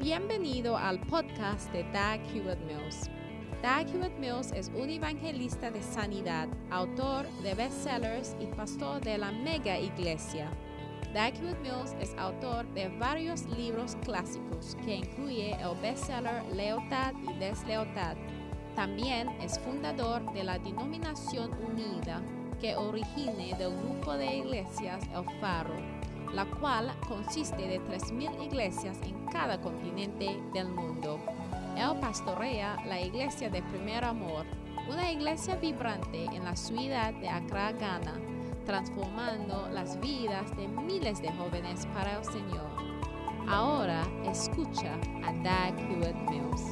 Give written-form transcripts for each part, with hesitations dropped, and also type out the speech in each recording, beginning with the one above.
Bienvenido al podcast de Dag Hewlett-Mills. Dag Hewlett-Mills es un evangelista de sanidad, autor de bestsellers y pastor de la mega iglesia. Dag Hewlett-Mills es autor de varios libros clásicos que incluye el bestseller Lealtad y Deslealtad. También es fundador de la Denominación Unida, que origina del grupo de iglesias El Faro, la cual consiste de 3,000 iglesias en cada continente del mundo. Él pastorea la iglesia de Primer Amor, una iglesia vibrante en la ciudad de Accra, Ghana, transformando las vidas de miles de jóvenes para el Señor. Ahora escucha a Dag Hewlett-Mills.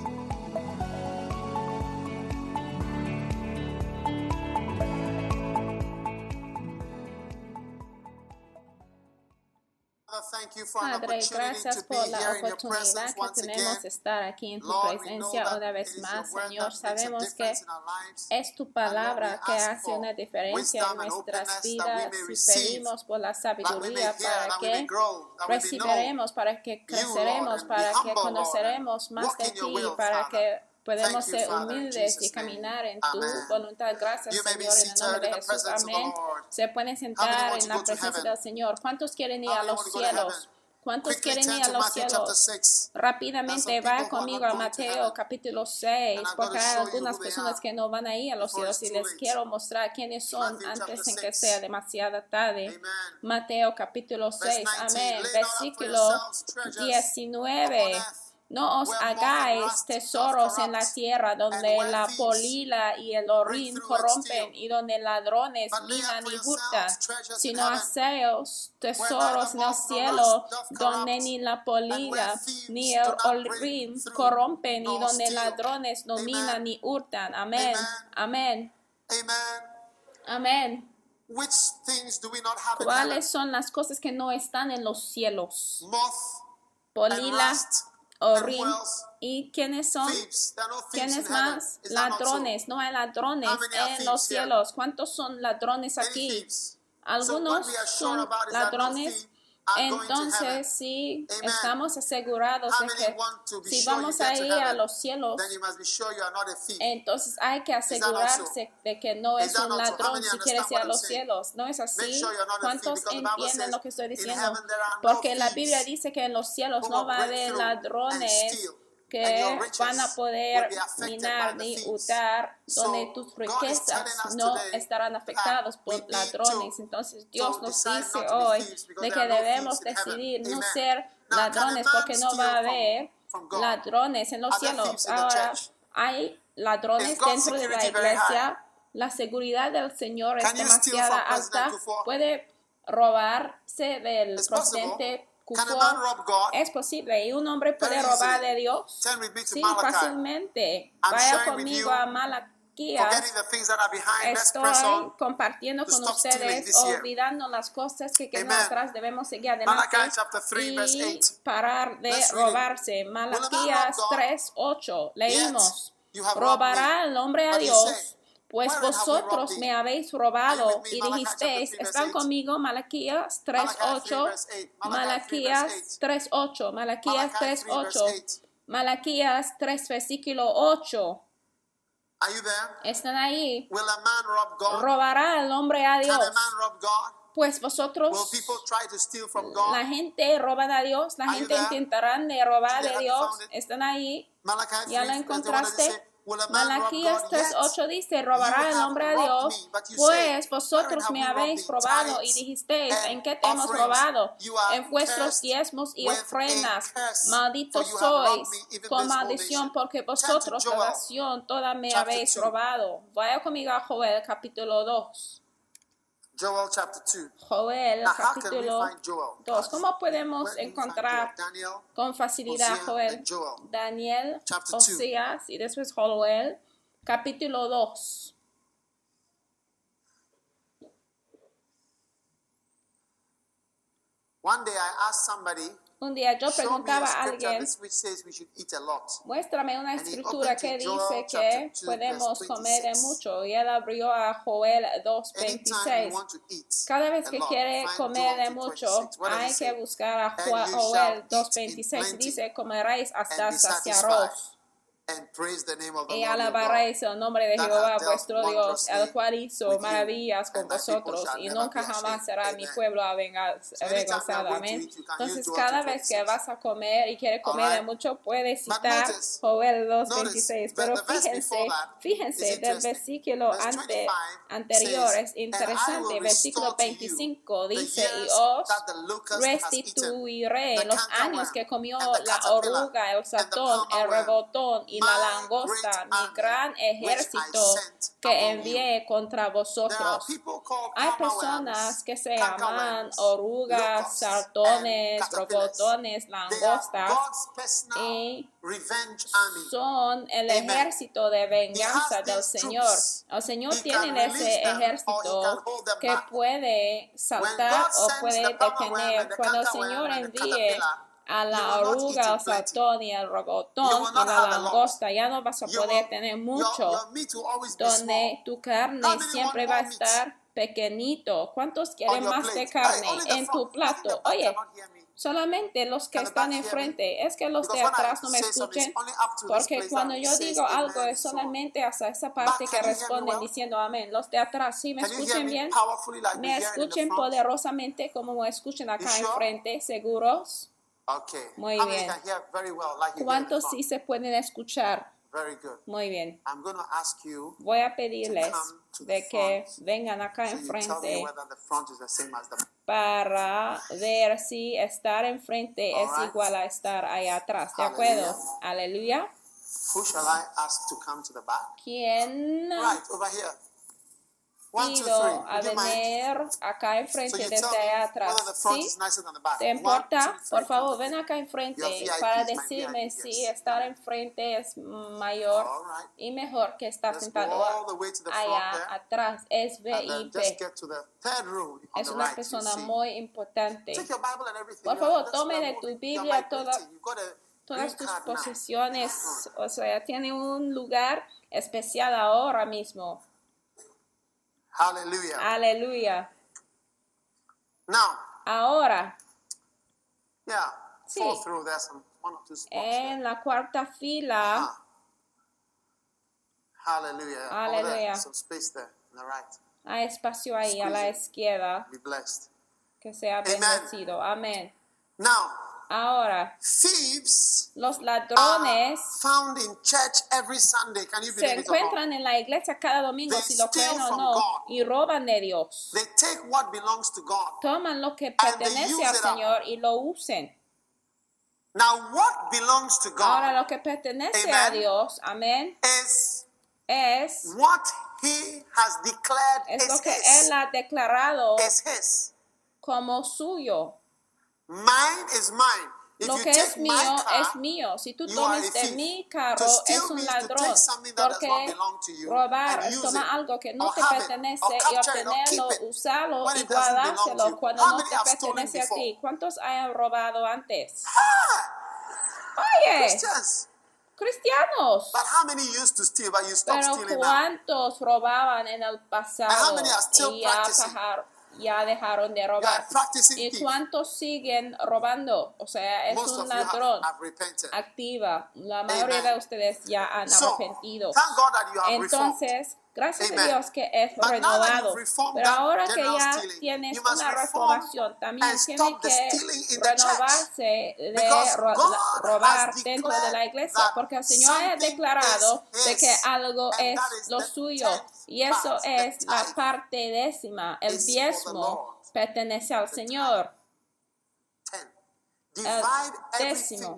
Padre, gracias por la oportunidad que tenemos de estar aquí en tu presencia una vez más, Señor. Sabemos que es tu palabra que hace una diferencia en nuestras vidas y pedimos por la sabiduría para que recibiremos, para que creceremos, para que conoceremos más de ti, para que podemos ser humildes y caminar en tu voluntad. Gracias, Señor, en el nombre de Jesús. Amén. Se pueden sentar en la presencia del Señor. ¿Cuántos quieren ir a los cielos? ¿Cuántos quieren ir a los cielos? Rápidamente va conmigo a Mateo capítulo 6, porque hay algunas personas que no van a ir a los cielos y les quiero mostrar quiénes son antes en que sea demasiado tarde. Mateo capítulo 6, amén. Versículo 19. No os hagáis tesoros en la tierra donde la polilla y el orín corrompen y donde ladrones minan y hurtan, sino haceos tesoros en el cielo donde ni la polilla ni el orín corrompen y donde ladrones no minan ni hurtan. Amén. Amén. Amén. ¿Cuáles son las cosas que no están en los cielos? Polilla, orín. ¿Y quiénes son? ¿Quiénes más? Ladrones. No hay ladrones en los cielos. ¿Cuántos son ladrones aquí? Algunos son ladrones. Entonces, si estamos asegurados de que si vamos a ir a los cielos, entonces hay que asegurarse de que no es un ladrón si quieres ir a los cielos. ¿No es así? ¿Cuántos entienden lo que estoy diciendo? Porque la Biblia dice que en los cielos no va a haber ladrones que van a poder minar ni hurtar, donde tus riquezas no estarán afectadas por ladrones. Entonces Dios nos dice hoy de que debemos decidir no ser ladrones, porque no va a haber ladrones en los cielos. Ahora, hay ladrones dentro de la iglesia. La seguridad del Señor es demasiado alta. Puede robarse del presidente. Es posible. ¿Y un hombre puede robar de Dios? Sí, fácilmente. Vaya conmigo a Malaquías. Estoy compartiendo con ustedes, olvidando las cosas que quedan atrás. Debemos seguir adelante y parar de robarse. Malaquías 3:8. Leímos. ¿Robará el hombre a Dios? Pues vosotros me habéis robado y dijisteis, ¿están conmigo? Malaquías 3:8, Malaquías 3:8, Malaquías 3:8, Malaquías 3, versículo 8. ¿Están ahí? ¿Robará el hombre a Dios? Pues vosotros, la gente roba a Dios, la gente intentará de robar de Dios. ¿Están ahí? ¿Ya lo encontraste? Malaquías 3:8 dice, robará el hombre a Dios, pues vosotros me habéis robado y dijisteis, ¿en qué te hemos robado? En vuestros diezmos y ofrendas. Malditos sois con maldición, porque vosotros la nación toda me habéis robado. Vaya conmigo a Joel capítulo 2. Joel capítulo 2. ¿Cómo podemos encontrar con facilidad Joel? Daniel, Oseas y después Joel capítulo 2. One day I asked somebody Un día yo preguntaba a alguien, muéstrame una escritura que dice que podemos comer de mucho. Y él abrió a Joel 2:26. Cada vez que quiere comer de mucho, hay que buscar a Joel 2:26. Dice, comeréis hasta saciaros. Y alabaréis el nombre de Jehová vuestro Dios, el cual hizo maravillas con vosotros, y nunca jamás será mi pueblo avergonzado. Amén. Entonces, cada vez que vas a comer y quieres comer de mucho, puedes citar Joel 2:26. Pero fíjense, del versículo anterior es interesante. Versículo 25 dice, y os restituiré los años que comió la oruga, el ratón, el rebotón y la langosta, mi gran ejército que envié contra vosotros. Hay personas que se llaman orugas, ratones, robotones, langostas, y son el ejército de venganza del Señor. El Señor tiene ese ejército que puede saltar o puede detener. Cuando el Señor envíe a la oruga, el ratón y el robotón y la langosta, ya no vas a poder tener mucho, donde tu carne siempre va a estar pequeñito. ¿Cuántos quieren más de carne en tu plato? Oye, solamente los que están enfrente. Es que los de atrás no me escuchen, porque cuando yo digo algo es solamente hasta esa parte que responden diciendo amén. Los de atrás, ¿sí me escuchen bien? ¿Me escuchen poderosamente como me escuchen acá enfrente? ¿Seguros? Muy bien. ¿Cuántos sí se pueden escuchar? Muy bien. Voy a pedirles de que vengan acá enfrente para ver si estar enfrente es igual a estar allá atrás. ¿De acuerdo? Aleluya. ¿Quién pido a venir acá enfrente desde allá atrás? ¿Sí? ¿Te importa? Por favor, ven acá enfrente para decirme si estar enfrente es mayor y mejor que estar sentado allá atrás. Es VIP. Es una persona muy importante. Por favor, tome de tu Biblia todas tus posesiones. O sea, tiene un lugar especial ahora mismo. Aleluya. Ahora, sí, en la cuarta fila, aleluya, hay espacio ahí a la izquierda, que sea bendecido. Amén. Ahora, los ladrones se encuentran en la iglesia cada domingo, si lo creen o no, y roban de Dios. Toman lo que pertenece al Señor y lo usen. Ahora, lo que pertenece a Dios, amén, es lo que Él ha declarado como suyo. Lo que es mío es mío. Si tú tomas de mi carro, es un ladrón. Porque robar es tomar algo que no te pertenece y obtenerlo, usarlo y guardárselo cuando no te pertenece a ti. ¿Cuántos hayan robado antes? Oye, cristianos. Pero ¿cuántos robaban en el pasado y ya dejaron de robar? ¿Y cuántos siguen robando? O sea, es un ladrón activa. La mayoría de ustedes ya han arrepentido. Entonces, gracias a Dios que es renovado. Pero ahora que ya tienes una reformación, también tiene que renovarse de robar dentro de la iglesia. Porque el Señor ha declarado de que algo es lo suyo. Y eso es la parte décima. El diezmo pertenece al Señor. El décimo.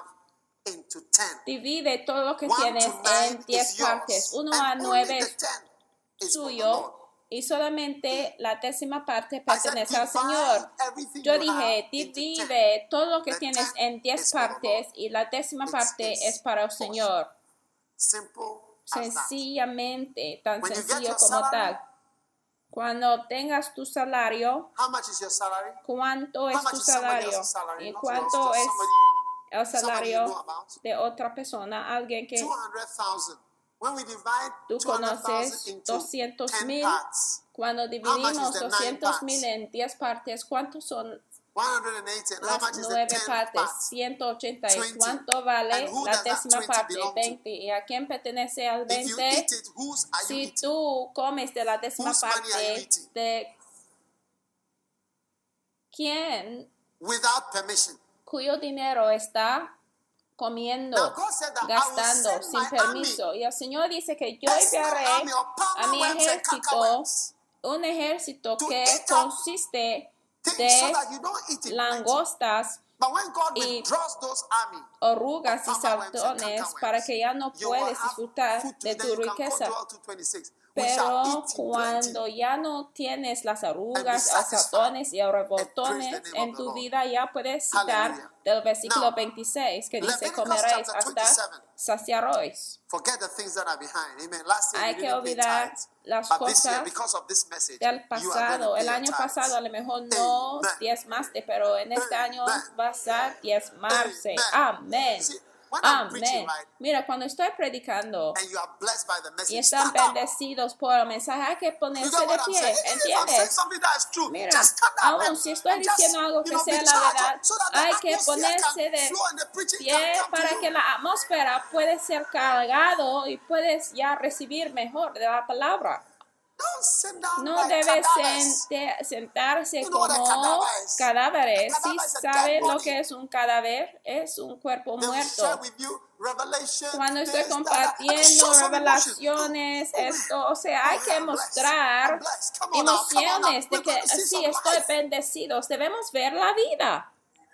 Divide todo lo que tienes en 10 partes. 1 a 9 es suyo y solamente la décima parte pertenece al Señor. Yo dije, divide todo lo que tienes en 10 partes y la décima parte es para el Señor. Sencillamente, tan sencillo como tal. Cuando tengas tu salario, how much is your salary? ¿cuánto es How much tu is somebody salario? else's salary? ¿Y Not cuánto yours, es just el somebody you salario know about. de otra persona? Alguien que 200,000. When we divide tú 200,000 conoces, into 200,000. 10 parts, Cuando much is dividimos the 200,000 en 10 partes, ¿cuántos son 180. And how las much is the 9 10 partes? parts? 180. ¿Y 20. cuánto vale And who la does that décima 20 parte? belong to? 20. ¿Y a quién pertenece al If you 20? eat it, whose are you Si eating? tú comes de la décima Whose money are you parte, eating? ¿de quién, Without permission. cuyo dinero está comiendo, Now God said that I will gastando send sin my permiso? army, Y el Señor dice que yo personal enviaré army of a mi palmer worms and ejército, cankerworms un ejército to que eat up consiste things so de that you don't eat it plenty. langostas, But when God y withdraws those army, orugas y of palmer worms and saltones cankerworms, para que ya no you will puedes have disfrutar food to de eat, tu then you can go riqueza. Joel 2:26. We shall Pero eat in cuando plenty. ya no tienes las arrugas, be los satisfied saltones y and praise rebotones the name en of the tu Lord. vida, ya puedes citar Hallelujah. del versículo Now, 26 que dice, Leviticus comeréis chapter hasta 27. saciaréis. Forget the things that are behind. Amen. Last year Hay we que didn't pay olvidar tithes. las But this year, cosas because of this message, del you are going to pasado. pay El your año tithes. pasado a lo mejor no Amen. diezmaste, pero en este año Amen. vas a diezmarse. Amen. Amén. See, when I'm preaching, Amén. right, Mira, cuando estoy predicando and you are blessed by the y message, están stand up. bendecidos por el mensaje, hay que You ponerse get de what I'm saying? pie, Even if I'm saying ¿entiendes? something that is true, Mira, just stand up aún si estoy and just, diciendo algo you que know, be sea la charged verdad, up so that hay the que atmosphere ponerse can de flow and the preaching pie can come para to que you. la atmósfera puede ser cargado y puedes ya recibir mejor de la palabra. Don't sit down No like debe cadavers. sentarse You know what a como cadaver is? cadáveres. A ¿Sí cadaver is a sabe dead lo body. que es un cadáver? Es un cuerpo They will share muerto. with you revelation. Cuando estoy this, that, and compartiendo show some emotion. revelaciones, Oh, esto, o sea, hay que I'm mostrar blessed. Come on now, come on now. emociones de We're que going to see sí some estoy life. bendecidos. Debemos ver la vida.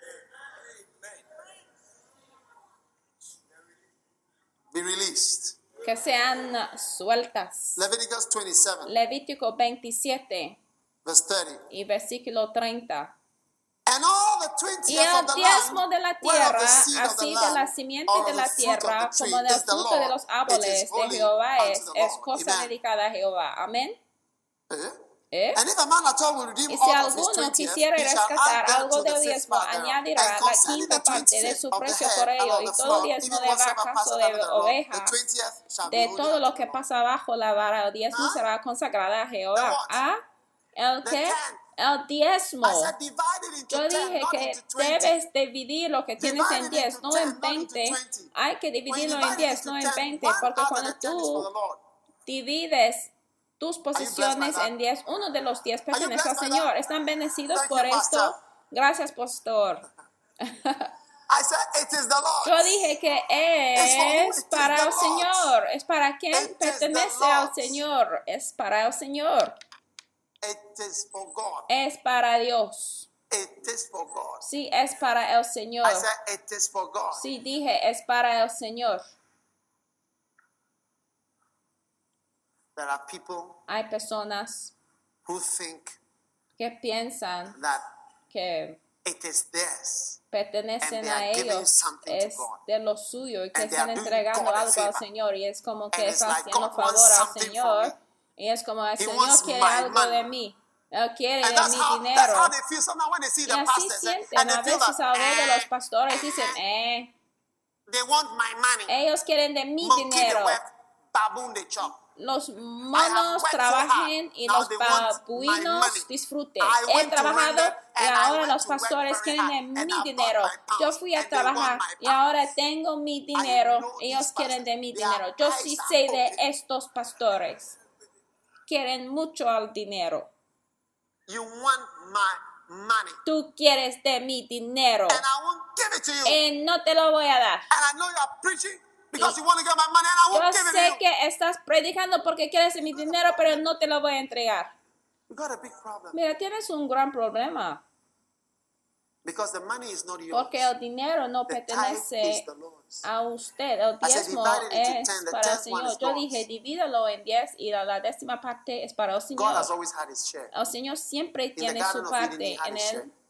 Be released. Que sean sueltas. Leviticus 27, Levítico 27 verse 30. y versículo 30. And all the Y 20th of el the diezmo land, de la whereof tierra, the seed of the así de la land, simiente or de of la the fruit of tierra, the tree, como del is the fruto de Lord. los It árboles is de holy Jehová unto the es Lord. cosa Amen. dedicada a Jehová. Amén. ¿Eh? And if a man at all will redeem Y si all of his alguno 20th, quisiera he shall rescatar add algo thereto the del fifth diezmo, part thereof. añadirá And la concerning quinta the parte de 25th su of the precio head por and ello, of y the todo flock, diezmo even de whatsoever vacas o passeth de over the rock, oveja, the 20th shall be de holy todo unto lo the que Lord. pasa bajo la vara, el diezmo será consagrada a The Jehová. what? ¿Ah? ¿El The qué? 10. El diezmo. I said divide it into Yo 10, dije not que into 20. debes dividir lo que tienes Divide en it 10, into no 10, en not into 20. 20. Hay que When you dividirlo en divide it 10, into no 10, en 20, one porque out of cuando the 10 is for the tú Lord. divides tus blessed by posesiones that? en 10, uno de los 10 you pertenece al blessed by Señor. that? ¿Están bendecidos Thank por you, esto? Pastor. Gracias, pastor. I said it is the Lord. Yo dije que It's for who? es It is para the el Lord. Señor. ¿Es para quien It is the pertenece al Lord's. Señor? Es para el Señor. It is for God. Es para Dios. It is for God. Sí, es para el Señor. I said it is for God. Sí, dije, es para el Señor. There are people Hay personas who think que piensan that que it is theirs. pertenecen And they a are giving ellos, something to es God. de lo suyo y que And they están are doing entregando God a algo al favor. Señor, y es como que And it's están like haciendo God wants favor al something Señor, from y es como el He Señor wants quiere my algo money. de mí. Él quiere And de that's mi how dinero. they feel sometimes when they see Y the así pastors sienten and a they feel veces al ver de los that pastores, dicen, they want my money. ellos quieren de mi Monkey they dinero. work, baboon they chop. Los I have monos worked so trabajen hard. y Now los they want my money. babuinos disfruten. I He went to trabajado render y and I ahora went los to work pastores very quieren de hard and mi I dinero. bought my Yo pounds fui a and they want trabajar my y ahora pounds. tengo mi I dinero. know Ellos these quieren de pastors. mi Their dinero. Yo sí eyes are sé de open. estos pastores. Quieren mucho al dinero. You want my money. Tú quieres de mi dinero And I won't give it to you. y no te lo voy a dar. And I know you are preaching because you want to get my money and I Yo won't give it to sé you. que estás predicando porque quieres de mi dinero, pero no te lo voy a entregar. You got a big problem. Mira, tienes un gran problema. Because the money is not yours. Porque el dinero no The tithe pertenece is the Lord's. a usted. El I said, diezmo divide it into es 10. The para el 10th one Señor. is Yo God's. dije, divídalo en 10 y la décima parte es para el God Señor. has always had his share. El Señor siempre tiene Garden su of Eden, parte. he had En his share. el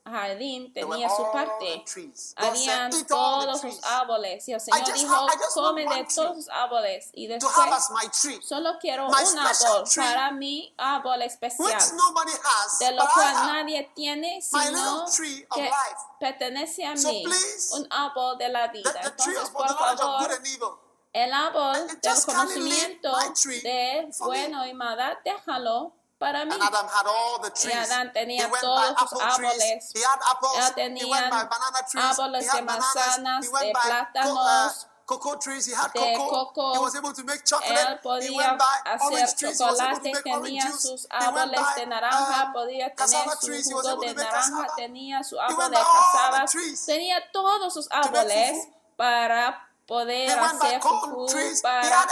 jardín tenía su parte. Habían todos los árboles. Y el Señor dijo, come de todos los árboles. Y después, solo quiero un árbol para mi árbol especial, de lo cual nadie tiene, sino que pertenece a mí, un árbol de la vida. Entonces, por favor, el árbol del conocimiento de bueno y maldad, déjalo para mí. Y Adán tenía todos sus árboles. Él tenía árboles de manzanas, de plátanos, de coco. Él podía hacer chocolate, tenía sus árboles de naranja, podía tener su jugo de naranja, tenía su árbol de cassava, tenía todos sus árboles para poder hacer fufu, para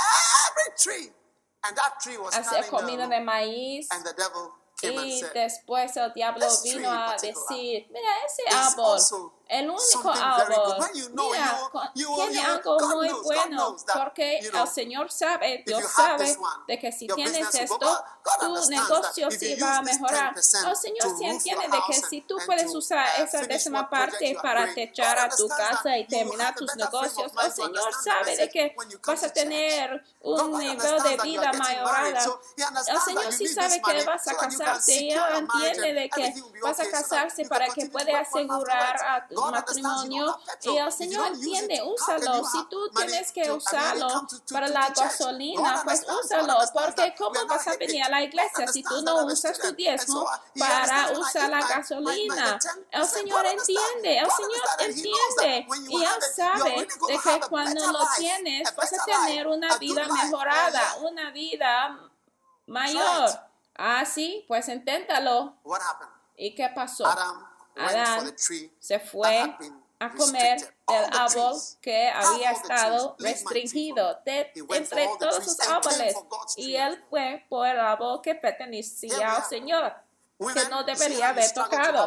hacer comida de maíz. Y después el diablo vino a decir, mira ese árbol, el único árbol, mira, tiene algo muy bueno, porque el Señor sabe, Dios sabe, de que si tienes esto, tu negocio sí va a mejorar. El Señor sí entiende de que si tú puedes usar esa décima parte para techar a tu casa y terminar tus negocios, el Señor sabe de que vas a tener un nivel de vida mayorado. El Señor sí sabe que vas a casarte y Él entiende de que vas a casarse para que pueda asegurar a tu matrimonio, y el Señor entiende, úsalo. Si tú tienes que usarlo para la gasolina, pues úsalo, porque ¿cómo vas a venir a la iglesia si tú no usas tu diezmo para usar la gasolina? El Señor entiende, y Él sabe de que cuando lo tienes vas a tener una vida mejorada, una vida mayor. Ah, sí, pues inténtalo. ¿Y qué pasó? Adán se fue a comer del árbol que había estado restringido entre todos los árboles, y él fue por el árbol que pertenecía al Señor, que no debería haber tocado.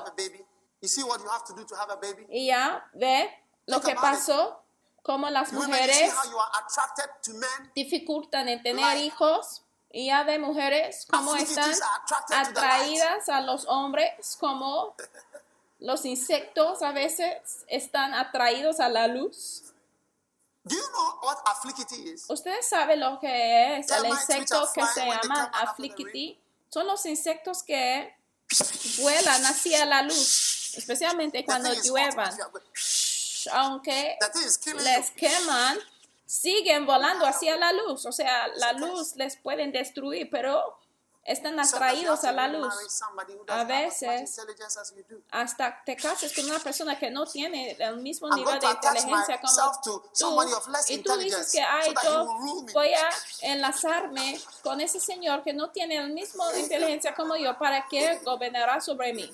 Y ya ve lo que pasó, como las mujeres dificultan en tener hijos. Y ya ve, mujeres, cómo están atraídas a los hombres, como los insectos a veces están atraídos a la luz. ¿Ustedes saben lo que es el insecto que se llama afflicity? Son los insectos que vuelan hacia la luz, especialmente cuando lluevan. Aunque les queman, siguen volando hacia la luz. O sea, la luz les pueden destruir, pero están atraídos a la luz. A veces, hasta te casas con una persona que no tiene el mismo nivel de inteligencia como tú, y tú dices que, ay, yo voy a enlazarme con ese señor que no tiene el mismo inteligencia como yo, para que gobernará sobre mí.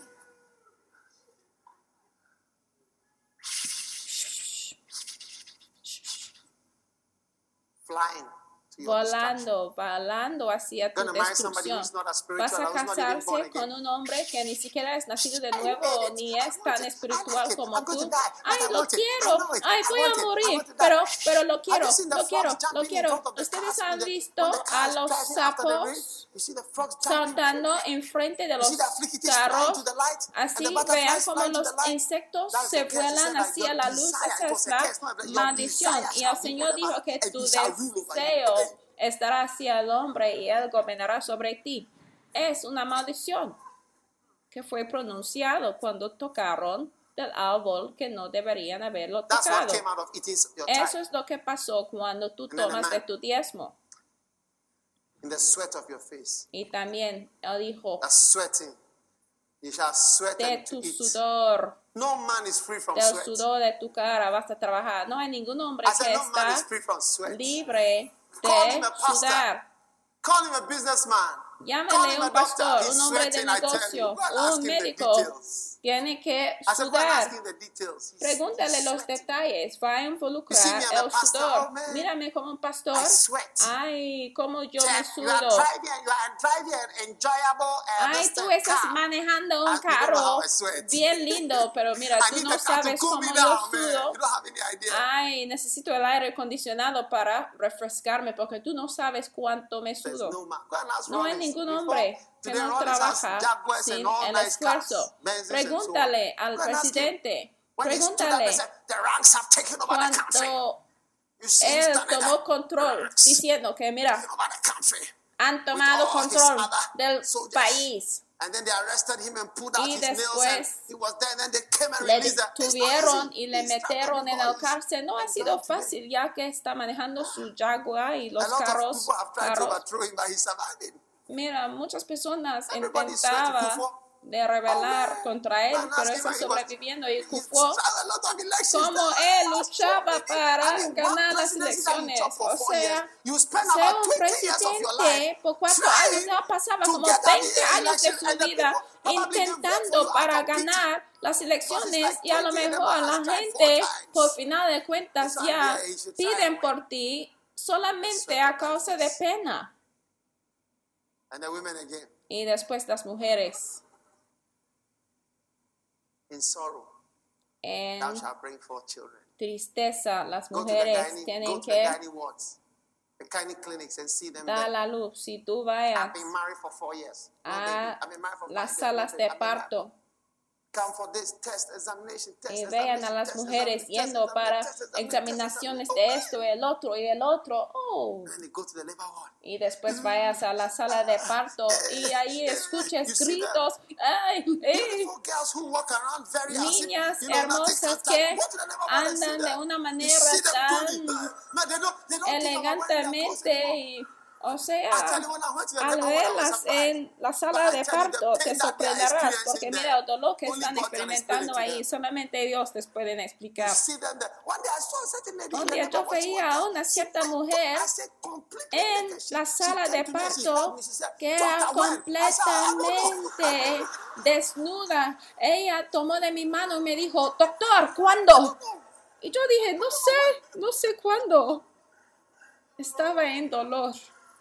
Volando hacia tu destrucción. Vas a casarse con un hombre que ni siquiera es nacido de nuevo, ni es tan espiritual como tú. Ay, lo quiero. Ay, voy a morir. Pero lo quiero. Ustedes han visto a los sapos saltando enfrente de los carros. Así vean como los insectos se vuelan hacia la luz. Esa es la maldición. Y el Señor dijo que tu deseo estará hacia el hombre y él gobernará sobre ti. Es una maldición que fue pronunciado cuando tocaron del árbol que no deberían haberlo tocado. Eso es lo que pasó cuando tú tomas de tu diezmo. Y también él dijo, de tu sudor, del sudor de tu cara vas a trabajar. No hay ningún hombre que está libre de sudar. Llámele un pastor, un hombre de negocio, un médico. Tiene que sudar. Pregúntale los detalles. Va a involucrar el sudor. Mírame como un pastor. Ay, como yo me sudo. Ay, tú estás manejando un carro bien lindo, pero mira, tú no sabes cómo yo sudo. Ay, y necesito el aire acondicionado para refrescarme porque tú no sabes cuánto me sudo. No hay ningún hombre que no trabaja sin el esfuerzo. Pregúntale al presidente. Pregúntale cuánto él tomó control diciendo que mira, han tomado control del país. Y después le detuvieron y le metieron en el cárcel. No ha sido fácil ya que está manejando su Jaguar y los carros. Mira, muchas personas intentaban de rebelar contra él, pero está sobreviviendo. Y Kufuor, como él luchaba para ganar las elecciones, o sea, ser un presidente por 4 años, no pasaba como 20 años de su vida intentando para ganar las elecciones, y a lo mejor la gente, por final de cuentas, ya piden por ti solamente a causa de pena. Y después las mujeres. En tristeza, las mujeres tienen que dar la luz. Si tú vayas a las salas de parto y vean a las mujeres yendo para examinaciones de esto y el otro, y después vayas a la sala de parto y ahí escuches gritos, ¡ay! Niñas hermosas que andan de una manera tan elegantemente y, o sea, al verlas en la sala de parto te sorprenderás porque mira el dolor que están experimentando ahí. Solamente Dios les puede explicar. Un día yo veía a una cierta mujer en la sala de parto que era completamente desnuda. Ella tomó de mi mano y me dijo, doctor, ¿cuándo? Y yo dije, no sé cuándo. Estaba en dolor.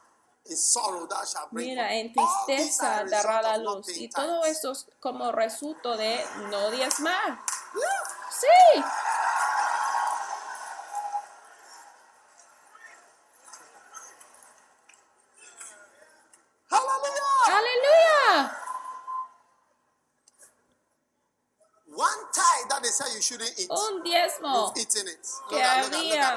Mira, en tristeza dará la luz. Y todo esto es como resultado de no diezmar. Sí. Aleluya. Un diezmo que había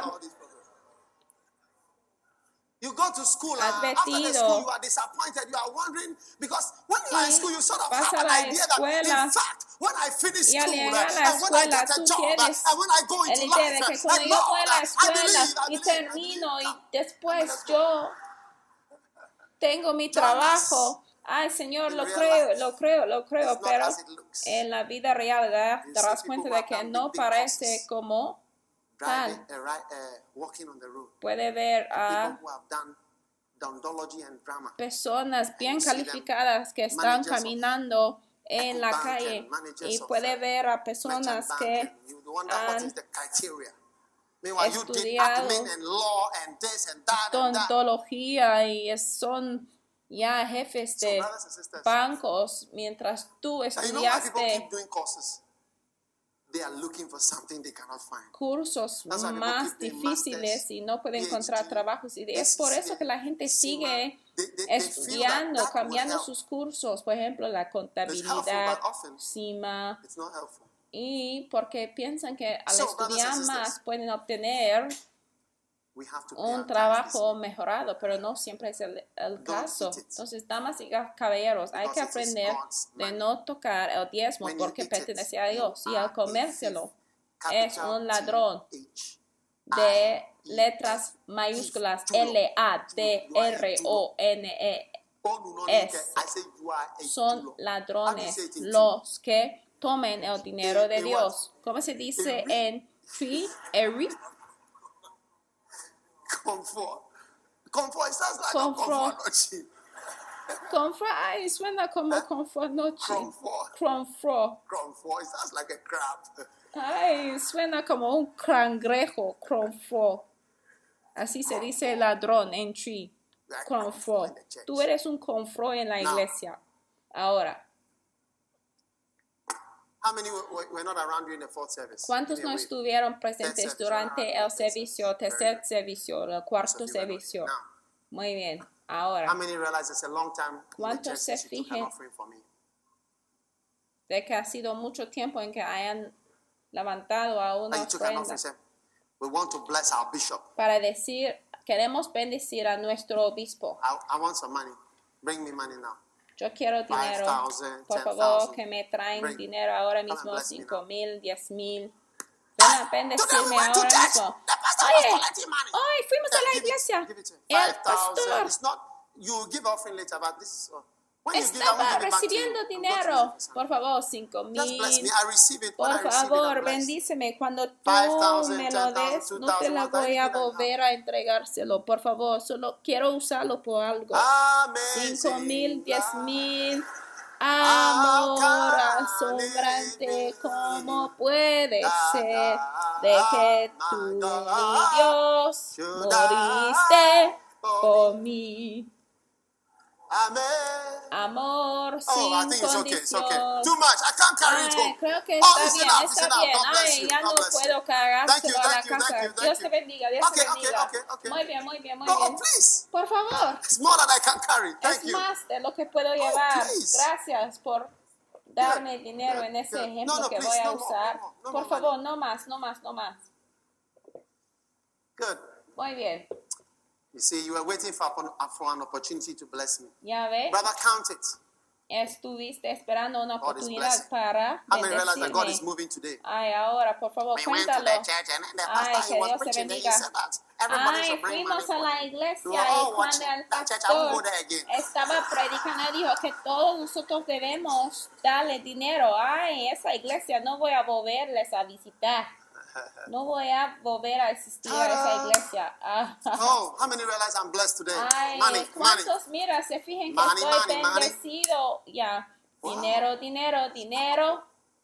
You go to school, after the advertido. school, you are disappointed. You are wondering because when you are in school, you sort of Vas have a an la idea that, escuela, in fact, when I finish y al school, llegar a la and when I escuela, get a tú job, tienes and when I go el into idea de life, que cuando and yo voy a Lord, la I escuela y believe. termino y después yo tengo mi trabajo. Ay, Señor, lo creo, pero en la vida real te darás cuenta de que no parece como tal. Puede ver a personas bien calificadas que están caminando en la calle y puede ver a personas que han estudiado odontología y son ya jefes de bancos mientras tú estudiaste cursos más difíciles y no pueden encontrar trabajos. Y es por eso que la gente sigue estudiando, cambiando sus cursos. Por ejemplo, la contabilidad, CIMA. Y porque piensan que al estudiar más pueden obtener un trabajo mejorado, pero no siempre es el caso. Entonces, damas y caballeros, hay que aprender de no tocar el diezmo porque pertenece a Dios. Y al comérselo es un ladrón de letras mayúsculas LADRONES. Son ladrones los que tomen el dinero de Dios. ¿Cómo se dice en Tree? Comfort. Comfort, it sounds like a comfort noche. Comfort, ay, suena como comfort noche. Comfort. Comfort, it sounds like a crab. Ay, suena como un cangrejo, comfort. Así se dice ladrón en Tree. Comfort. Tú eres un comfort en la iglesia. Ahora. ¿Cuántos no estuvieron presentes durante el servicio, tercer servicio, el cuarto servicio? Muy bien. Ahora, ¿cuántos se fijan de que ha sido mucho tiempo en que hayan levantado a una ofrenda para decir, queremos bendecir a nuestro obispo? Yo quiero dinero. Por favor, que me traen dinero ahora mismo, 5,000, 10,000. Ven a bendecirme ahora mismo. Oye, hoy fuimos a la iglesia. El pastor estaba recibiendo dinero. Por favor, 5,000. Por favor, bendíceme. Cuando tú me lo des, no te la voy a volver a entregárselo. Por favor, solo quiero usarlo por algo. 5,000, 10,000. Amor asombrante, ¿cómo puede ser de que tú, mi Dios, moriste por mí? Amor sin condición. Creo que está bien, está bien. Ay, ya no puedo cargárselo a la casa. Dios te bendiga, Dios te bendiga. Muy bien, muy bien, muy bien. Por favor. Es más de lo que puedo llevar. Gracias por darme dinero en ese ejemplo que voy a usar. Por favor, no más, no más, no más. Muy bien. You see, you were waiting for an opportunity to bless me. Ya ve. Brother, count it. Estuviste esperando una oportunidad para bendecirme. Ay, ahora, por favor, cuéntalo. Ay, que Dios te bendiga. Ay, fuimos a la iglesia y cuando el pastor estaba predicando, dijo que todos nosotros debemos darle dinero. Ay, esa iglesia no voy a volverles a visitar. No voy a volver a asistir a esa iglesia. Oh, how many realize I'm blessed today? Ay, ¿cuántos mira se fijan que estoy bendecido? Ya, dinero, dinero, dinero.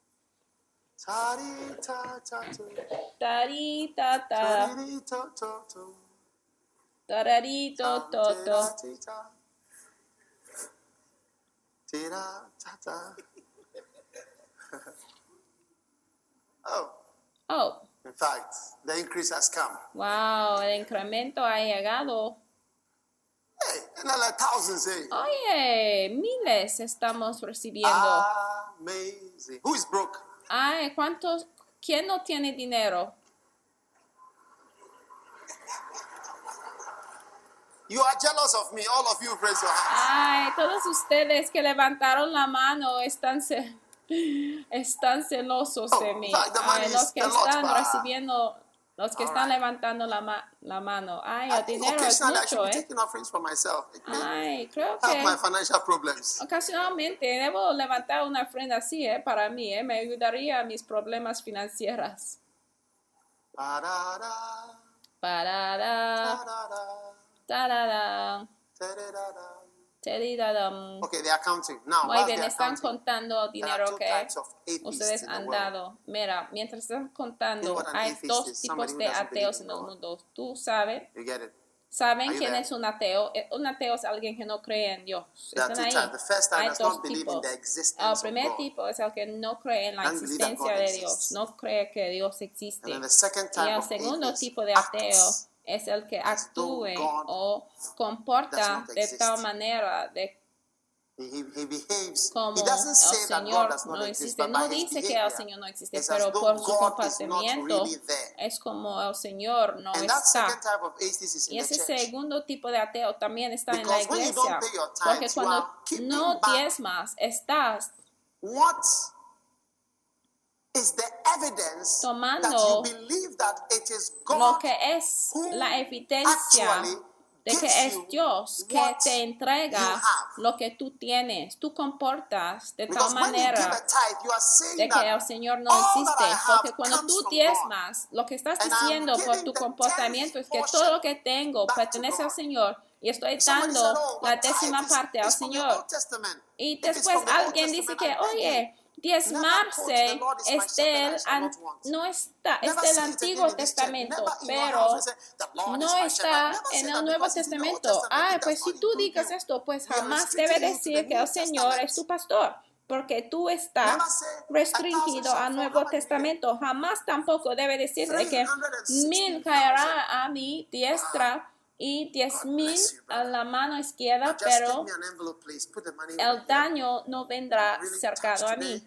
Tarita, tararito, toto. Oh. In fact, the increase has come. Wow, el incremento ha llegado. Hey, another thousands, hey. Oye, miles estamos recibiendo. Amazing. Who is broke? Ay, ¿cuántos? ¿Quién no tiene dinero? You are jealous of me. All of you raise your hands. Ay, todos ustedes que levantaron la mano están celosos de mí. Ay, los que están recibiendo, los que están levantando la mano. Ay, el dinero es mucho, Ay, creo que ocasionalmente debo levantar una ofrenda así, para mí, me ayudaría a mis problemas financieros. Okay, they are counting. Now, muy bien, están contando el dinero que ustedes han dado. Mira, mientras están contando, hay dos tipos de ateos en el mundo. ¿Tú sabes? ¿Saben quién es un ateo? Un ateo es alguien que no cree en Dios. Están ahí. Hay dos tipos. El primer tipo es el que no cree en la existencia de Dios. No cree que Dios existe. Y el segundo tipo de ateo es el que actúe o comporta de tal manera de como el Señor no existe. No dice que el Señor no existe, pero por su comportamiento es como el Señor no está. Y ese segundo tipo de ateo también está en la iglesia, porque cuando no diezmas, estás tomando lo que es la evidencia de que es Dios que te entrega lo que tú tienes. Tú comportas de tal manera de que el Señor no existe. Porque cuando tú diezmas, lo que estás diciendo por tu comportamiento es que todo lo que tengo pertenece al Señor y estoy dando la 10ª parte al Señor. Y después alguien dice que, oye, diezmarse es del Antiguo Testamento, pero no está en el Nuevo Testamento. Pues si tú digas esto, pues jamás debe decir que el Señor es tu pastor. porque tú estás restringido al Nuevo Testamento. Jamás tampoco debe decirle que 1000 caerá a mi diestra y 10,000 a la mano izquierda, pero el daño no vendrá cercano a mí.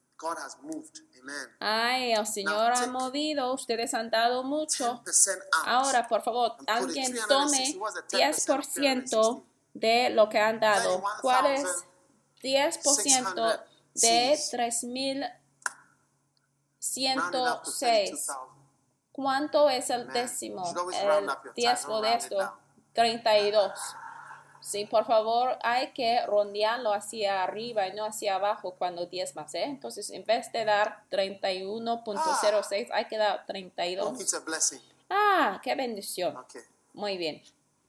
Ay, el Señor ha movido, ustedes han dado mucho. Ahora, por favor, alguien tome 10% de lo que han dado. ¿Cuál es 10% de 3,106? ¿Cuánto es el décimo? El diezmo de esto. 32. Sí, por favor, hay que rondearlo hacia arriba y no hacia abajo cuando diezmas, ¿eh? Entonces, en vez de dar 31.06, hay que dar 32. Ah, qué bendición. Muy bien.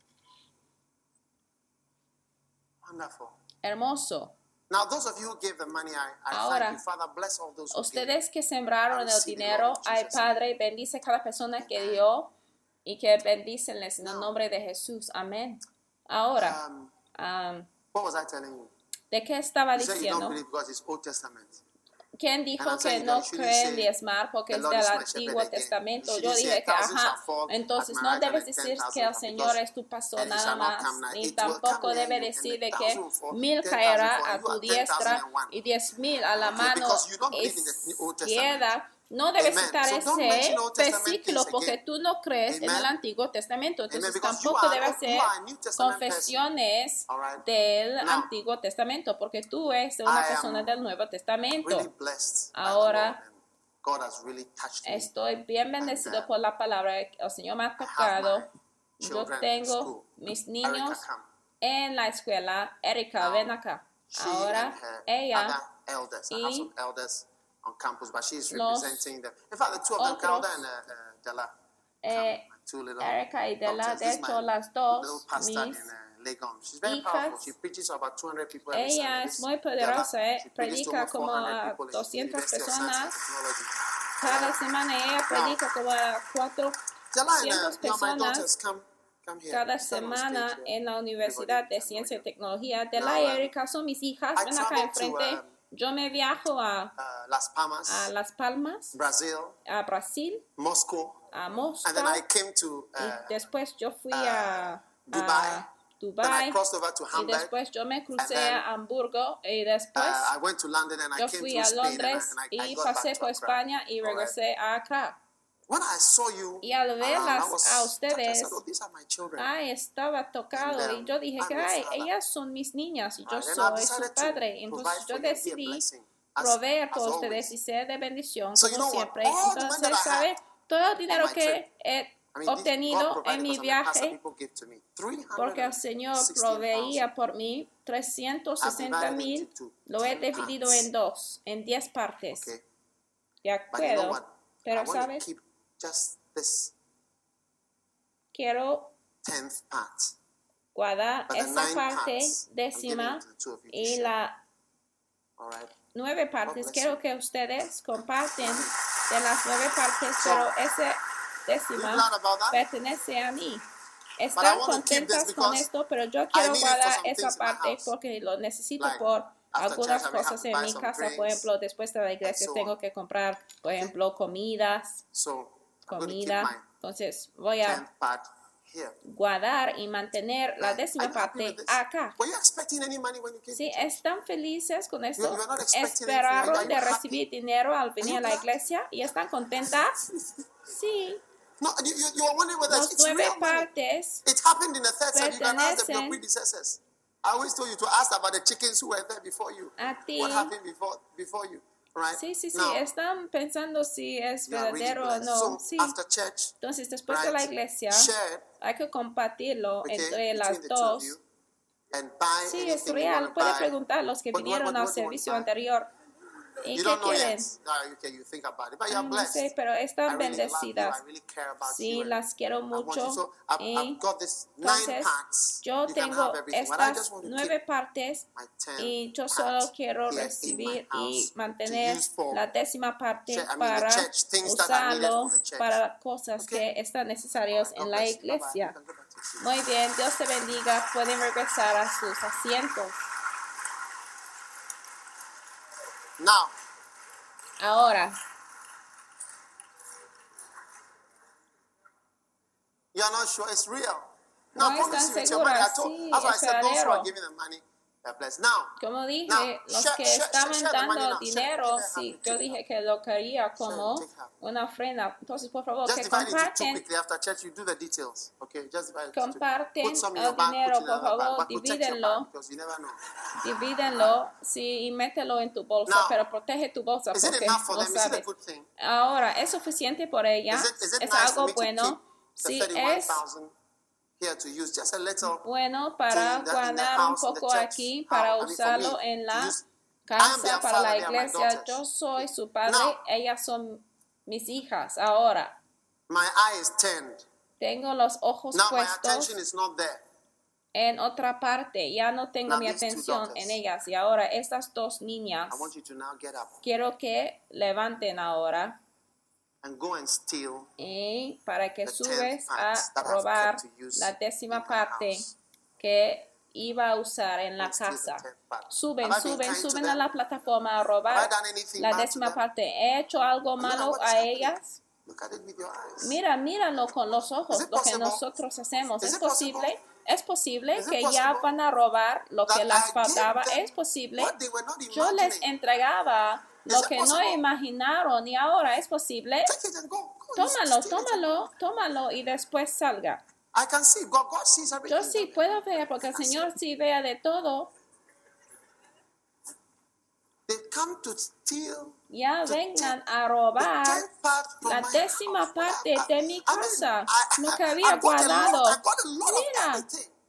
Hermoso. Ahora, ustedes que sembraron el dinero, ay Padre, bendice cada persona que dio y que bendícenles en el nombre de Jesús. Amén. Ahora, ¿de qué estaba diciendo? ¿Quién dijo que no cree en diezmar porque es del Antiguo Testamento? Yo dije que, entonces no debes decir que el Señor es tu pastor nada más, ni tampoco debe decir de que 1000 caerá a tu diestra y 10,000 a la mano izquierda. No debes citar ese versículo porque tú no crees en el Antiguo Testamento. Entonces tampoco debes hacer confesiones del Antiguo Testamento porque tú eres una persona del Nuevo Testamento. Ahora estoy bien bendecido por la palabra. El Señor me ha tocado. Yo tengo mis niños en la escuela. Erika, ven acá. Ahora ella y on campus, but she's representing them. In fact, the two of them, Kelda and Della, two little Erika y Della, de hecho, las dos, mis She's very powerful. She preaches to about 200 people every ella es muy poderosa, predica como a 200 personas cada semana. Ella predica como a 400 personas cada semana en la Universidad de Ciencia y Tecnología. Della y Erika son mis hijas. Ven acá enfrente. Yo me viajo a Las Palmas, a Brasil, Moscow, a Moscú, and then I came to, y después yo fui a Dubai, y después yo me crucé a Hamburgo, y después yo fui a Londres y pasé por España y regresé a Accra. Y al verlas a ustedes, estaba tocado y yo dije que ellas son mis niñas y yo soy su padre. Entonces yo decidí proveer por ustedes y ser de bendición como siempre. Entonces, ¿sabe? Todo el dinero que he obtenido en mi viaje, porque el Señor proveía por mí 360,000, lo he dividido en 10 partes. ¿De acuerdo? Pero, ¿sabes? Quiero guardar esa parte décima y las 9 partes. Quiero que ustedes comparten de las 9 partes, pero esa décima pertenece a mí. Están contentas con esto, pero yo quiero guardar esa parte porque lo necesito por algunas cosas en mi casa. Por ejemplo, después de la iglesia tengo que comprar, por ejemplo, comida. Entonces voy a guardar y mantener la décima parte acá. ¿Sí? ¿Están felices con esto? ¿Esperaron de recibir dinero al venir a la iglesia y están contentas? Sí. Las 9 partes pertenecen a ti. Sí, están pensando si es verdadero o no. Sí. Entonces, después de la iglesia, hay que compartirlo entre las dos. Sí, es real. Puede preguntar a los que vinieron al servicio anterior. ¿Y qué quieren? No sé, pero están bendecidas. Sí, las quiero mucho. Y entonces, yo tengo estas 9 partes y yo solo quiero recibir y mantener la décima parte para usarlo para cosas que están necesarias en la iglesia. Muy bien, Dios te bendiga. Pueden regresar a sus asientos. Now. Ahora. You are not sure it's real. No están seguras. Sí, es verdadero. Como dije, los que estaban dando dinero, sí, yo dije que lo quería como una ofrenda. Entonces, por favor, que comparten el dinero, por favor, divídenlo, sí, y mételo en tu bolsa, pero protege tu bolsa porque no sabes. Ahora, ¿es suficiente por ella? ¿Es algo bueno? Sí, es bueno para guardar un poco aquí, para usarlo en la casa, para la iglesia. Yo soy su padre, ellas son mis hijas. Ahora, tengo los ojos puestos en otra parte. Ya no tengo mi atención en ellas. Y ahora, estas dos niñas, quiero que levanten ahora. Y para que subes a robar la 10ª parte que iba a usar en la casa. Suben a la plataforma a robar la 10ª parte. ¿He hecho algo malo a ellas? Míralo con los ojos, lo que nosotros hacemos. ¿Es posible? ¿Es posible que ya van a robar lo que les faltaba? ¿Es posible? Yo les entregaba lo que no imaginaron y ahora es posible. Tómalo y después salga. Yo sí puedo ver porque el Señor sí vea de todo. Ya vengan a robar la 10ª parte de mi casa, lo que había guardado. Mira,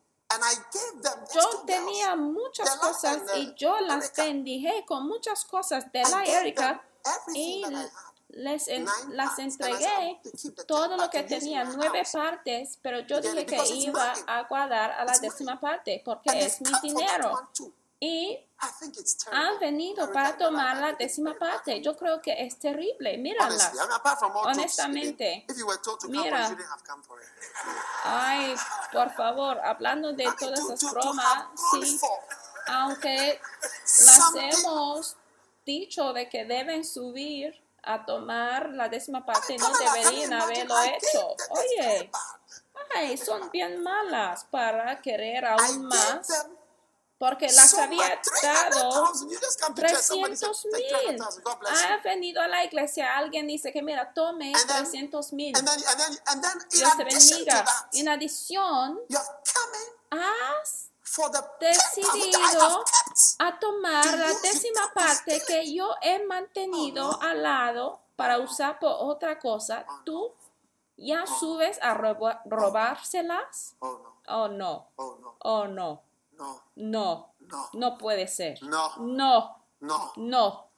yo tenía muchas cosas y yo las bendije con muchas cosas de la Erika y las entregué todo lo que tenía, 9 partes, pero yo dije que iba a guardar a la 10ª parte porque es mi dinero. Y han venido para tomar la 10ª parte. Yo creo que es terrible. Míralas. Honestamente. Mira. Ay, por favor, hablando de todas esas bromas, sí, aunque las hemos dicho de que deben subir a tomar la 10ª parte, no deberían haberlo hecho. Oye, ay, son bien malas para querer aún más. Porque las había dado 300,000. Ha venido a la iglesia. Alguien dice que mira, tome 300,000. Dios te bendiga. En adición, has decidido a tomar la 10ª parte que yo he mantenido al lado para usar por otra cosa. ¿Tú ya subes a robárselas? Oh, no. Oh, no. No puede ser. No.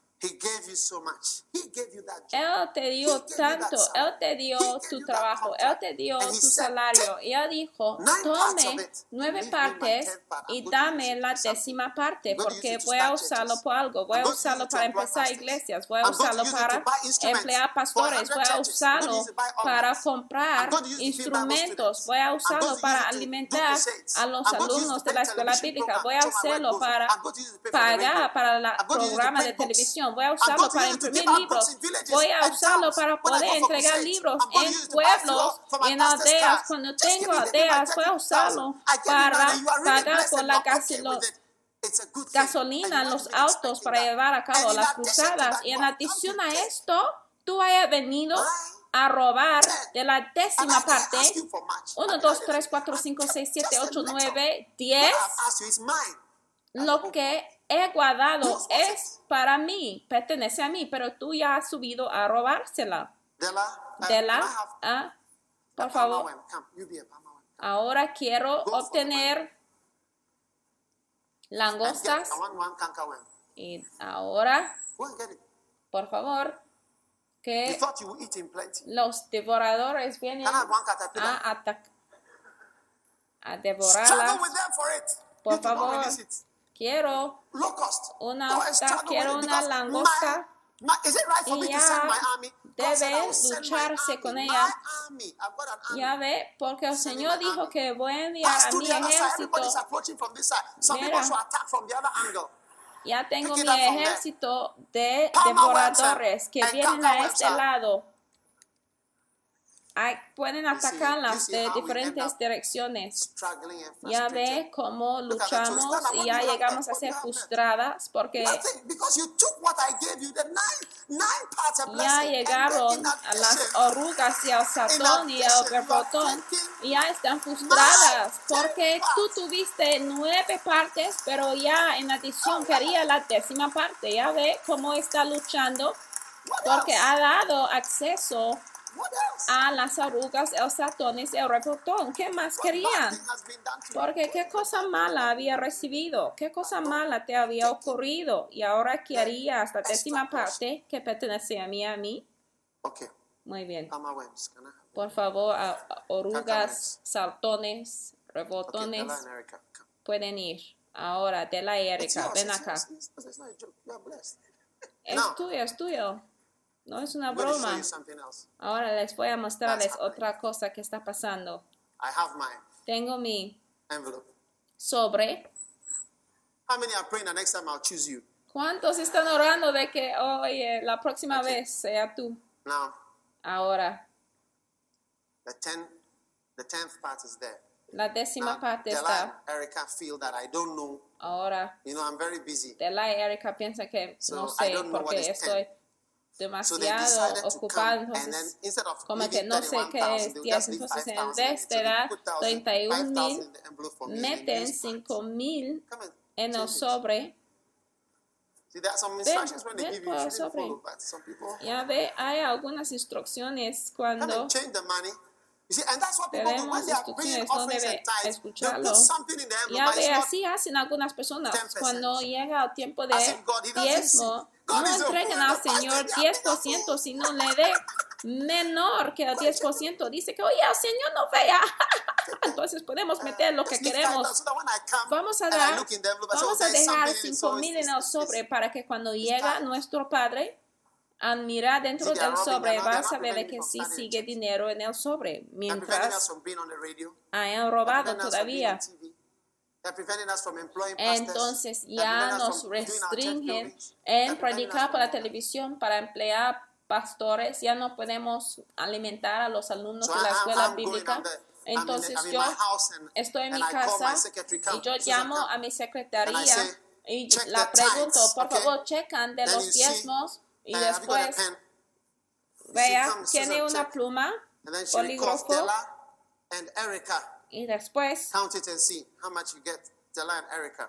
Él te dio tanto, Él te dio tu trabajo, Él te dio tu salario. Y Él dijo, tome 9 partes y dame la 10ª parte, porque voy a usarlo por algo. Voy a usarlo para empezar iglesias, voy a usarlo para emplear pastores, voy a usarlo para comprar instrumentos, voy a usarlo para alimentar a los alumnos de la escuela bíblica, voy a usarlo para pagar para el programa de televisión. Voy a usarlo para imprimir libros. Voy a usarlo para poder entregar libros en pueblos, en aldeas. Cuando tengo aldeas, voy a usarlo para pagar por la gasolina en los autos para llevar a cabo las cruzadas. Y en adición a esto, tú hayas venido a robar de la 10ª parte. 1, 2, 3, 4, 5, 6, 7, 8, 9, 10. Lo que he guardado es para mí, pertenece a mí, pero tú ya has subido a robársela. Por favor. Ahora quiero obtener langostas. Y ahora, por favor, que los devoradores vienen a devorarlas. Por favor. Quiero una langosta y ya debe lucharse con ella. Ya ve, porque el Señor dijo que voy a enviar a mi ejército. Mira, Ya tengo mi ejército de devoradores que vienen a este lado. Pueden atacarlas de diferentes direcciones. Ya ve cómo luchamos y ya llegamos a ser frustradas porque ya llegaron a las orugas y al sartón y al borbotón y ya están frustradas porque tú tuviste 9 partes, pero ya en adición quería la 10ª parte. Ya ve cómo está luchando porque ha dado acceso a las orugas, los ratones y el rebotón. ¿Qué más querían? Porque qué cosa mala había recibido, qué cosa mala te había ocurrido y ahora querías la 10ª parte que pertenecía a mí. Muy bien. Por favor, orugas, saltones, rebotones pueden ir. Ahora, Dela y Erika, ven acá. Es tuyo. No es una broma. Ahora les voy a mostrarles otra cosa que está pasando. Tengo mi sobre. ¿Cuántos están orando de que, oye, la próxima vez sea tú? Ahora. La 10ª parte está. Ahora. Dela y Erika piensan que no sé porque estoy demasiado ocupado, entonces como que no sé qué es 10, entonces en vez de dar 31,000 meten 5,000 en el sobre. Ven por el sobre. Ya ve, hay algunas instrucciones cuando tenemos instrucciones, no debe escucharlo. Ya ve, así hacen algunas personas cuando llega el tiempo de diezmo. No entreguen al Señor 10%, sino le dé menor que el 10%. Dice que, oye, el Señor no vea. Entonces podemos meter lo que queremos. Vamos a dejar 5,000 en el sobre para que cuando llega nuestro Padre, al mirar dentro del sobre, va a saber de que sí sigue dinero en el sobre. Mientras hayan robado todavía. Entonces ya nos restringen en predicar por la televisión para emplear pastores. Ya no podemos alimentar a los alumnos de la escuela bíblica. Entonces yo estoy en mi casa y yo llamo a mi secretaría y la pregunto, por favor, checan de los diezmos y después vea, tiene una pluma, bolígrafo. Y después, count it and see how much you get, Dela and Erika.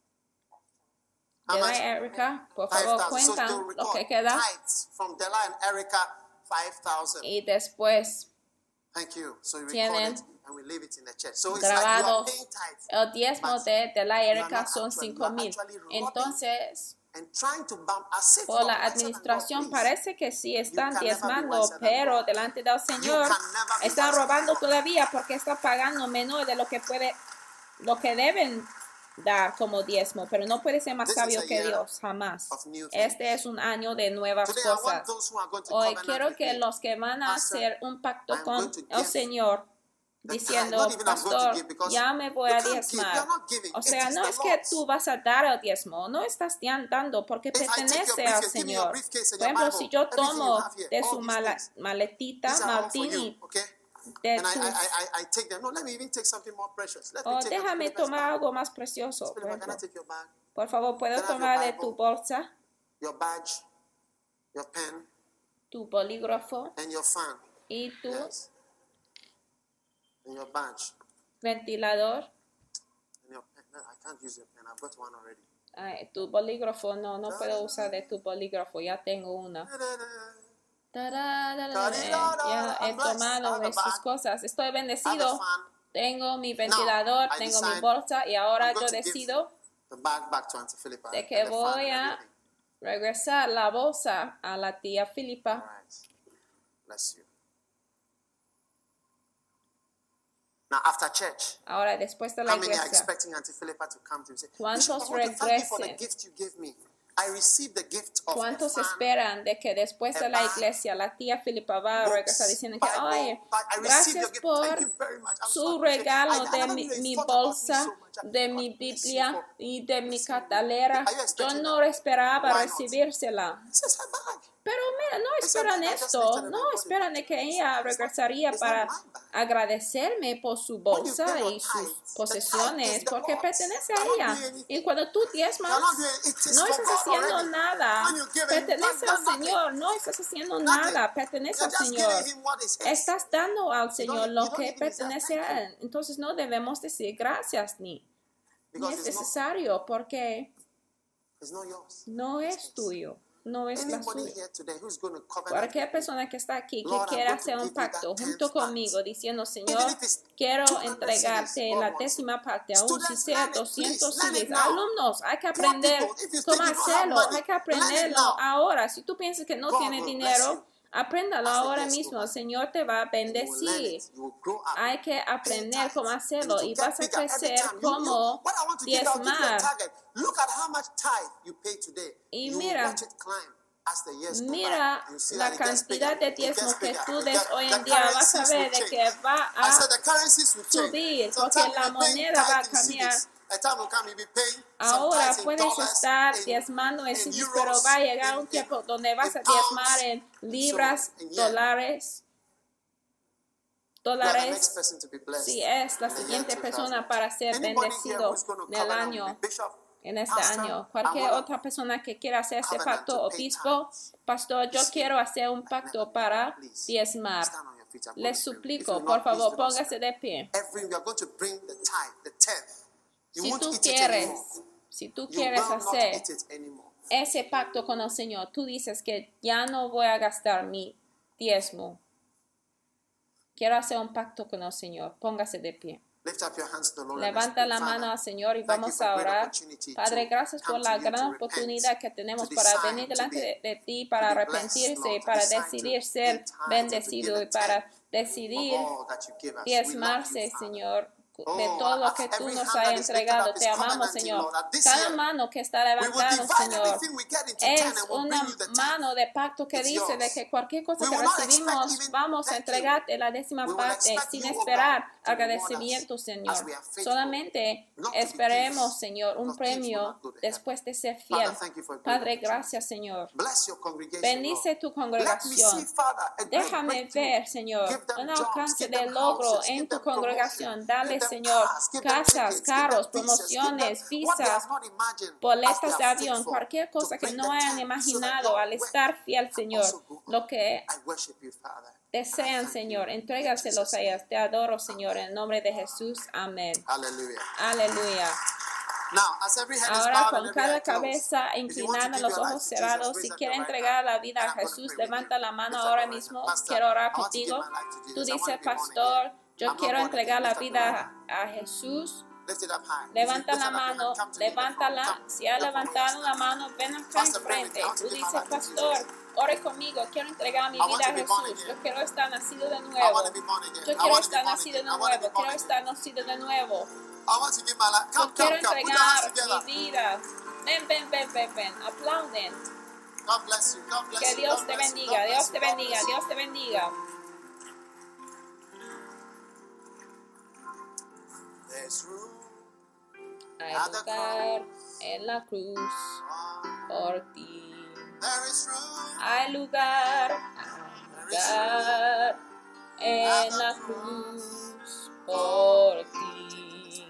Dela y Erika, por favor, cuentan lo que queda. From Dela and Erika, 5,000. Y después tienen grabados el diezmo de Dela y Erika son 5,000. Entonces, por la administración parece que sí están diezmando, pero delante del Señor están robando todavía porque están pagando menos de lo que deben dar como diezmo, pero no puede ser más sabio que Dios, jamás. Este es un año de nuevas cosas. Hoy quiero que los que van a hacer un pacto con el Señor diciendo, pastor, ya me voy a diezmar. O sea, no es que tú vas a dar el diezmo, no estás dando porque pertenece al Señor. Por ejemplo, si yo tomo de su maletita, Martini, de déjame tomar algo más precioso. Por favor, ¿puedo tomar de tu bolsa, tu bolígrafo y tu ventilador? Tu bolígrafo, no puedo usar de tu bolígrafo, ya tengo una. Ya he tomado de sus cosas, estoy bendecido. Tengo mi ventilador, tengo mi bolsa y ahora yo decido de que voy a regresar la bolsa a la tía Filipa. Now, after church, ahora después de la iglesia, ¿cuántos regresen? ¿Cuántos esperan de que después de la iglesia la tía Filipa va a regresar diciendo que, oye, gracias por su regalo de mi bolsa de mi Biblia y de mi cartelera. Yo no esperaba recibírsela. Pero mira, no esperan esto, no esperan de que ella regresaría para agradecerme por su bolsa y sus posesiones, porque pertenece a ella. Y cuando tú diezmas, no estás haciendo nada, pertenece al Señor, no estás haciendo nada, pertenece al Señor. Estás dando al Señor lo que pertenece a Él. Entonces no debemos decir gracias ni es necesario, porque no es tuyo. No es la suya. Cualquier persona que está aquí que quiera hacer un pacto junto conmigo diciendo, Señor, quiero entregarte la 10ª parte, aún si sea 200 CDs. Alumnos, hay que aprender cómo hacerlo, hay que aprenderlo ahora. Si tú piensas que no tienes dinero, apréndalo ahora mismo. El Señor te va a bendecir. Hay que aprender cómo hacerlo y vas a crecer como diezmar. Y mira la cantidad de diezmo que tú des hoy en día. Vas a ver de que va a subir porque la moneda va a cambiar. Ahora puedes estar diezmando en CDs, pero va a llegar un tiempo donde vas a diezmar en libras, dólares. Si es la siguiente persona para ser bendecido del año, en este año. Cualquier otra persona que quiera hacer este pacto, obispo, pastor, yo quiero hacer un pacto para diezmar. Les suplico, por favor, póngase de pie. Si tú quieres hacer ese pacto con el Señor, tú dices que ya no voy a gastar mi diezmo. Quiero hacer un pacto con el Señor. Póngase de pie. Levanta la mano al Señor y vamos a orar. Padre, gracias por la gran oportunidad que tenemos para venir delante de ti, para arrepentirse, para decidir ser bendecido y para decidir diezmarse, Señor, de todo lo que tú nos has entregado. Te amamos, Señor. Cada mano que está levantada, Señor, es una mano de pacto que dice de que cualquier cosa que recibimos, vamos a entregarte la 10ª parte sin esperar agradecimiento, Señor. Solamente esperemos, Señor, un premio después de ser fiel. Padre, gracias, Señor. Bendice tu congregación. Déjame ver, Señor, un alcance de logro en tu congregación. Dale, Señor, casas, carros, promociones, visas, boletas de avión, cualquier cosa que no hayan imaginado al estar fiel, Señor. Lo que desean, Señor, entrégaselos a ellas. Te adoro, Señor, en el nombre de Jesús. Amén. Aleluya. Ahora, con cada cabeza inclinada, los ojos cerrados, si quiere entregar la vida a Jesús, levanta la mano ahora mismo. Quiero orar contigo. Tú dices, pastor, yo quiero entregar la vida a Jesús. Levanta la mano, levántala. Si ha levantado la mano, ven acá enfrente. Tú dices, pastor, ore conmigo, quiero entregar mi vida a Jesús. Yo quiero estar nacido de nuevo. Yo quiero estar nacido de nuevo. Quiero estar nacido de nuevo. Yo quiero entregar mi vida. Ven. Aplauden. Que Dios te bendiga, Dios te bendiga, Dios te bendiga. Hay lugar en la cruz por ti. Hay lugar en la cruz por ti.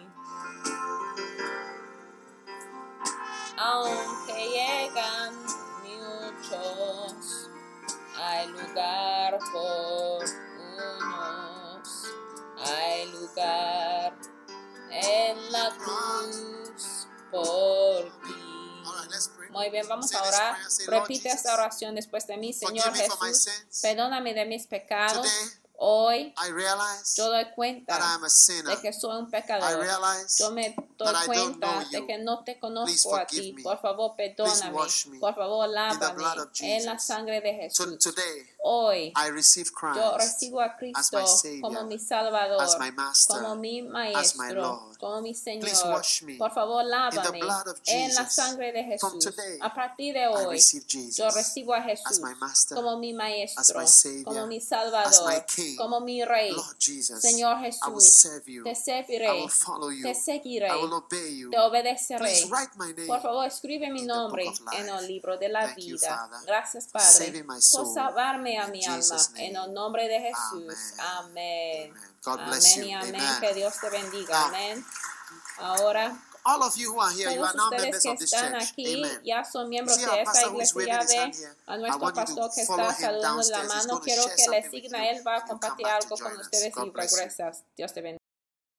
Aunque llegan muchos, hay lugar por unos. Hay lugar en la cruz por ti. Muy bien, vamos a orar. Repite esta oración después de mí. Señor Jesús, perdóname de mis pecados. Hoy yo doy cuenta de que soy un pecador. Yo me doy cuenta de que no te conozco a ti. Por favor, perdóname. Por favor, lávame en la sangre de Jesús. Hoy I receive Christ yo recibo a as Cristo my Savior, como mi Salvador, as my Master, como mi as my Maestro, Lord. como mi Please Señor. wash me Por favor, in the lávame blood of en la Jesus. sangre de From Jesús. today, A partir de I hoy, receive yo Jesus recibo a as Jesús my Master, como mi as Maestro, my Savior, como mi as Salvador, my King. como mi Rey. Lord Jesus, Señor I will Jesús, serve you. te I serviré, will follow you. te I seguiré, will obey you. te obedeceré. Please write my name Por favor, escribe mi in the book nombre of life. en el libro de la Thank you, vida. Father, Gracias, for Padre, saving my por soul. salvarme a In mi alma. Jesus' En name. el nombre de Jesús. Amen. Amén. God bless Amén you. y amén. Amen. Que Dios te bendiga. Now, Amén. Ahora, all of you who are here, you todos are now ustedes members que of this están church. aquí Amen. ya son You miembros see de our esta pastor who is iglesia. waving Ya his hand ve here? a I nuestro want you pastor to que follow está him saludando la downstairs. He's mano. going to Quiero share que le something with sigan you a él. Va a when you come compartir back to algo con join us. ustedes y God bless you. regresas. Dios te bendiga.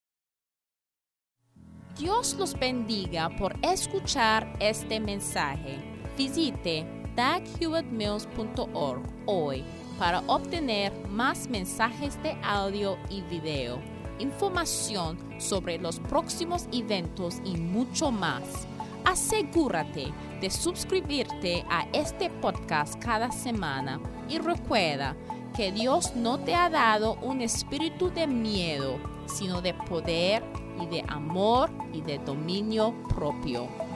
Dios los bendiga por escuchar este mensaje. Visite daghewittmills.org hoy para obtener más mensajes de audio y video, información sobre los próximos eventos y mucho más. Asegúrate de suscribirte a este podcast cada semana y recuerda que Dios no te ha dado un espíritu de miedo, sino de poder y de amor y de dominio propio.